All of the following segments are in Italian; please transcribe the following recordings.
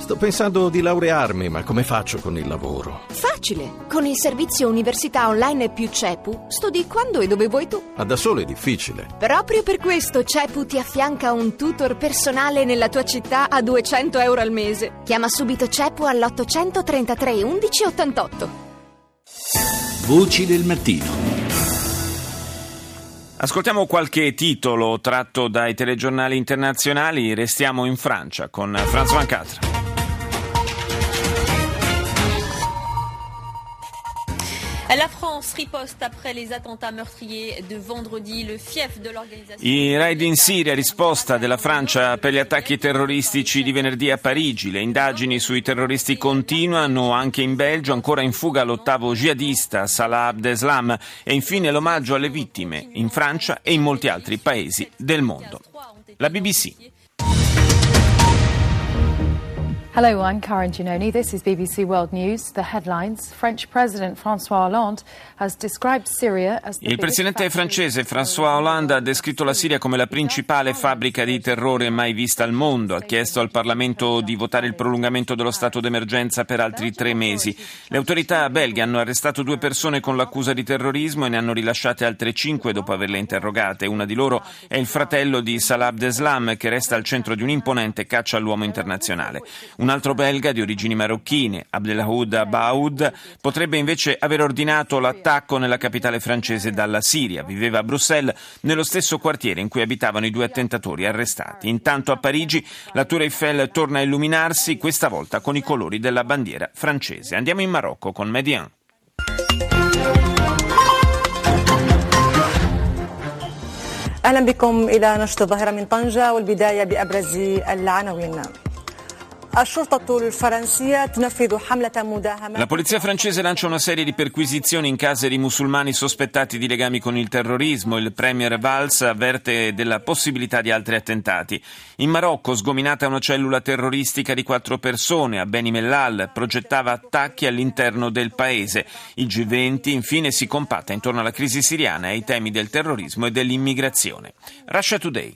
Sto pensando di laurearmi, ma come faccio con il lavoro? Facile! Con il servizio Università Online più CEPU studi quando e dove vuoi tu. Ma da solo è difficile. Proprio per questo CEPU ti affianca un tutor personale nella tua città a €200 al mese. Chiama subito CEPU all'833 11 88. Voci del mattino. Ascoltiamo qualche titolo tratto dai telegiornali internazionali. Restiamo in Francia con Franz Van Catra. La France riposte après les attentats meurtriers de vendredi, le fief de l'organisation. I raid in Siria, risposta della Francia per gli attacchi terroristici di venerdì a Parigi. Le indagini sui terroristi continuano anche in Belgio, ancora in fuga l'ottavo jihadista Salah Abdeslam, e infine l'omaggio alle vittime in Francia e in molti altri paesi del mondo. La BBC. Hello, I'm Karen Giannoni. This is BBC World News. The headlines. French President François Hollande has described Syria as the Il presidente francese François Hollande ha descritto la Siria come la principale fabbrica di terrore mai vista al mondo. Ha chiesto al Parlamento di votare il prolungamento dello stato d'emergenza per altri 3 mesi. Le autorità belghe hanno arrestato 2 persone con l'accusa di terrorismo e ne hanno rilasciate altre 5 dopo averle interrogate. Una di loro è il fratello di Salah Abdeslam, che resta al centro di un'imponente caccia all'uomo internazionale. Un altro belga di origini marocchine, Abdelhaoud Abaoud, potrebbe invece aver ordinato l'attacco nella capitale francese dalla Siria. Viveva a Bruxelles, nello stesso quartiere in cui abitavano i 2 attentatori arrestati. Intanto a Parigi la Tour Eiffel torna a illuminarsi, questa volta con i colori della bandiera francese. Andiamo in Marocco con Median. أهلا بكم إلى نشرة الظاهرة من طنجة والبداية بأبرز العناوين. La polizia francese lancia una serie di perquisizioni in case di musulmani sospettati di legami con il terrorismo. Il premier Valls avverte della possibilità di altri attentati. In Marocco, sgominata una cellula terroristica di 4 persone a Beni Mellal, progettava attacchi all'interno del paese. Il G20 infine si compatta intorno alla crisi siriana e ai temi del terrorismo e dell'immigrazione. Russia Today.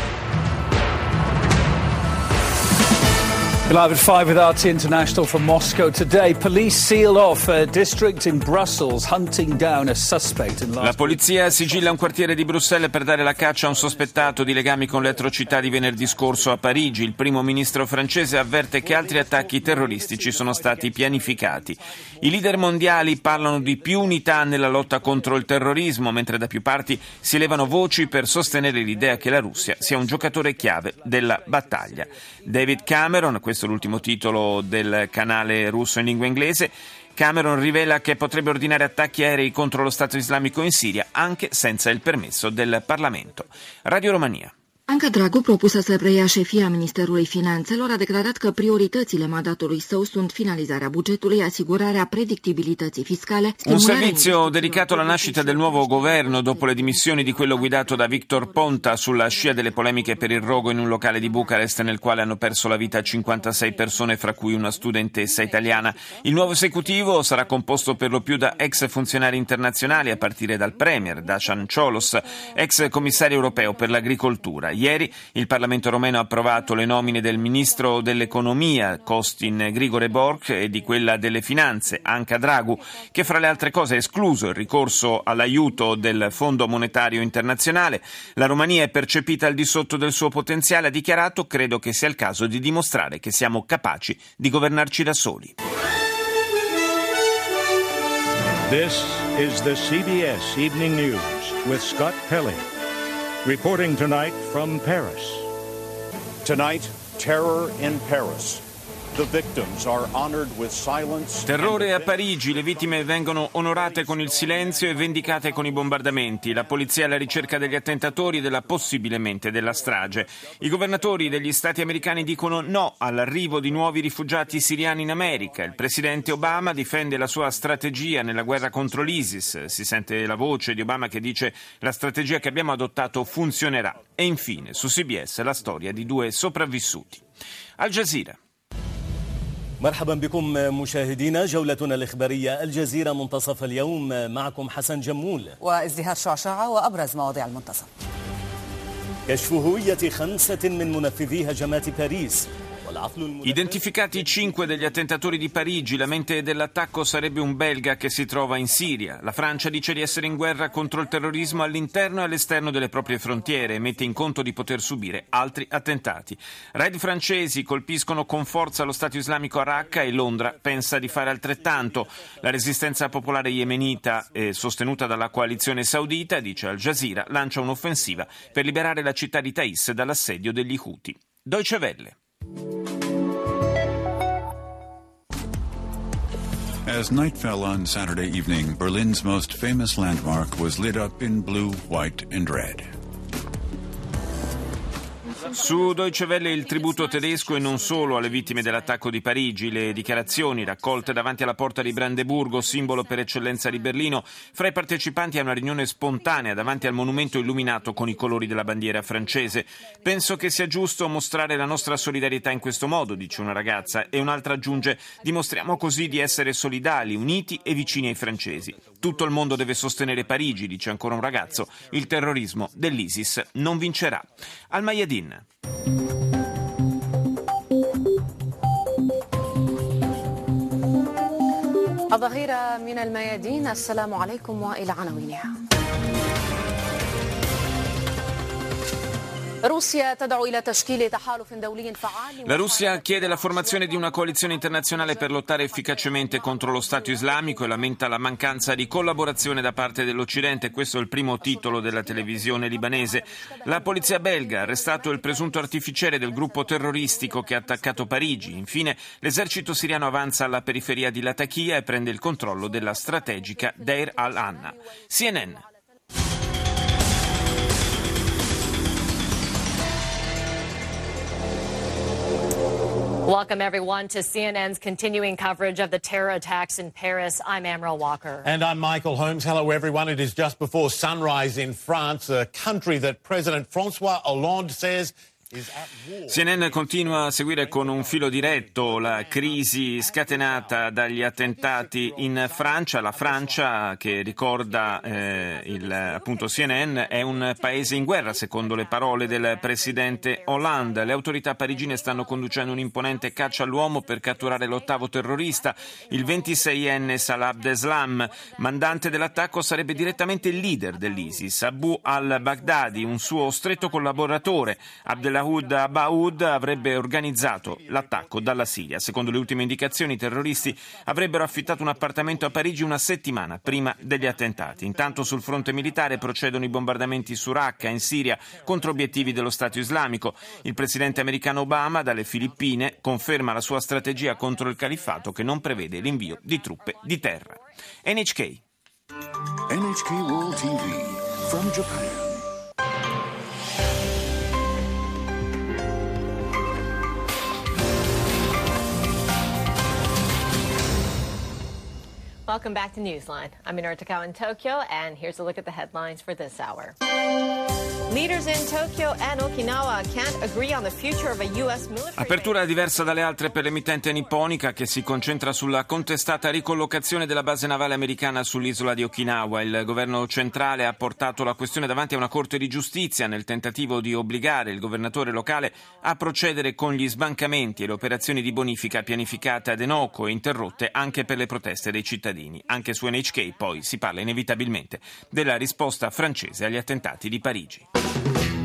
Live at 5 with RT International from Moscow today. Police sealed off a district in Brussels, hunting down a suspect in La polizia sigilla un quartiere di Bruxelles per dare la caccia a un sospettato di legami con le atrocità di venerdì scorso a Parigi. Il primo ministro francese avverte che altri attacchi terroristici sono stati pianificati. I leader mondiali parlano di più unità nella lotta contro il terrorismo, mentre da più parti si levano voci per sostenere l'idea che la Russia sia un giocatore chiave della battaglia. David Cameron, questo è l'ultimo titolo del canale russo in lingua inglese, Cameron rivela che potrebbe ordinare attacchi aerei contro lo Stato islamico in Siria anche senza il permesso del Parlamento. Radio Romania. Anca Dragu, propusă să preia șefia Ministerului Finanțelor, a declarat că prioritățile mandatului său sunt finalizarea bugetului, asigurarea predictibilității fiscale. Un servizio dedicato alla nascita del nuovo governo dopo le dimissioni di quello guidato da Victor Ponta sulla scia delle polemiche per il rogo in un locale di Bucarest nel quale hanno perso la vita 56 persone, fra cui una studentessa italiana. Il nuovo esecutivo sarà composto per lo più da ex funzionari internazionali, a partire dal premier Dacian Ciolos, ex commissario europeo per l'agricoltura. Ieri il Parlamento romeno ha approvato le nomine del ministro dell'economia Costin Grigore Borch e di quella delle finanze Anca Dragu, che fra le altre cose ha escluso il ricorso all'aiuto del Fondo Monetario Internazionale. La Romania è percepita al di sotto del suo potenziale, ha dichiarato: credo che sia il caso di dimostrare che siamo capaci di governarci da soli. This is the CBS Evening News with Scott Pelley. Reporting tonight from Paris. Tonight, terror in Paris. The victims are honored with silence. Terrore a Parigi, le vittime vengono onorate con il silenzio e vendicate con i bombardamenti. La polizia è alla ricerca degli attentatori e possibilmente della strage. I governatori degli stati americani dicono no all'arrivo di nuovi rifugiati siriani in America. Il presidente Obama difende la sua strategia nella guerra contro l'ISIS. Si sente la voce di Obama che dice: la strategia che abbiamo adottato funzionerà. E infine, su CBS, la storia di 2 sopravvissuti. Al Jazeera. مرحبا بكم مشاهدينا، جولتنا الإخبارية الجزيرة منتصف اليوم، معكم حسن جمول وازدهار شعشعة وأبرز مواضيع المنتصف. كشف هوية 5 من منفذي هجمات باريس. Identificati 5 degli attentatori di Parigi, la mente dell'attacco sarebbe un belga che si trova in Siria. La Francia dice di essere in guerra contro il terrorismo all'interno e all'esterno delle proprie frontiere e mette in conto di poter subire altri attentati. Raid francesi colpiscono con forza lo Stato islamico a Raqqa e Londra pensa di fare altrettanto. La resistenza popolare yemenita, sostenuta dalla coalizione saudita, dice Al Jazeera, lancia un'offensiva per liberare la città di Taiz dall'assedio degli Houthi. Deutsche Welle. As night fell on Saturday evening, Berlin's most famous landmark was lit up in blue, white, and red. Su Deutsche Welle il tributo tedesco e non solo alle vittime dell'attacco di Parigi, le dichiarazioni raccolte davanti alla porta di Brandeburgo, simbolo per eccellenza di Berlino, fra i partecipanti a una riunione spontanea davanti al monumento illuminato con i colori della bandiera francese. Penso che sia giusto mostrare la nostra solidarietà in questo modo, dice una ragazza, e un'altra aggiunge: dimostriamo così di essere solidali, uniti e vicini ai francesi. Tutto il mondo deve sostenere Parigi, dice ancora un ragazzo, il terrorismo dell'ISIS non vincerà. Al Mayadin. الظهيرة من الميادين. السلام عليكم وإلى عناوينها. La Russia chiede la formazione di una coalizione internazionale per lottare efficacemente contro lo Stato islamico e lamenta la mancanza di collaborazione da parte dell'Occidente. Questo è il primo titolo della televisione libanese. La polizia belga ha arrestato il presunto artificiere del gruppo terroristico che ha attaccato Parigi. Infine, l'esercito siriano avanza alla periferia di Latakia e prende il controllo della strategica Deir al-Anna. CNN. Welcome, everyone, to CNN's continuing coverage of the terror attacks in Paris. I'm Amril Walker. And I'm Michael Holmes. Hello, everyone. It is just before sunrise in France, a country that President François Hollande says CNN continua a seguire con un filo diretto la crisi scatenata dagli attentati in Francia. La Francia, che ricorda appunto CNN, è un paese in guerra, secondo le parole del presidente Hollande. Le autorità parigine stanno conducendo un'imponente caccia all'uomo per catturare l'ottavo terrorista. Il 26enne Salah Abdeslam, mandante dell'attacco, sarebbe direttamente il leader dell'ISIS. Abu al-Baghdadi, un suo stretto collaboratore. Abdelahoud Abaoud avrebbe organizzato l'attacco dalla Siria. Secondo le ultime indicazioni, i terroristi avrebbero affittato un appartamento a Parigi una settimana prima degli attentati. Intanto sul fronte militare procedono i bombardamenti su Raqqa, in Siria, contro obiettivi dello Stato islamico. Il presidente americano Obama, dalle Filippine, conferma la sua strategia contro il califfato che non prevede l'invio di truppe di terra. NHK World TV from Japan. Welcome back to Newsline. I'm Minoru Takao in Tokyo, and here's a look at the headlines for this hour. Leaders in Tokyo and Okinawa can't agree on the future of a U.S. military. Apertura diversa dalle altre per l'emittente nipponica, che si concentra sulla contestata ricollocazione della base navale americana sull'isola di Okinawa. Il governo centrale ha portato la questione davanti a una corte di giustizia nel tentativo di obbligare il governatore locale a procedere con gli sbancamenti e le operazioni di bonifica pianificate ad Henoko e interrotte anche per le proteste dei cittadini. Anche su NHK poi si parla inevitabilmente della risposta francese agli attentati di Parigi.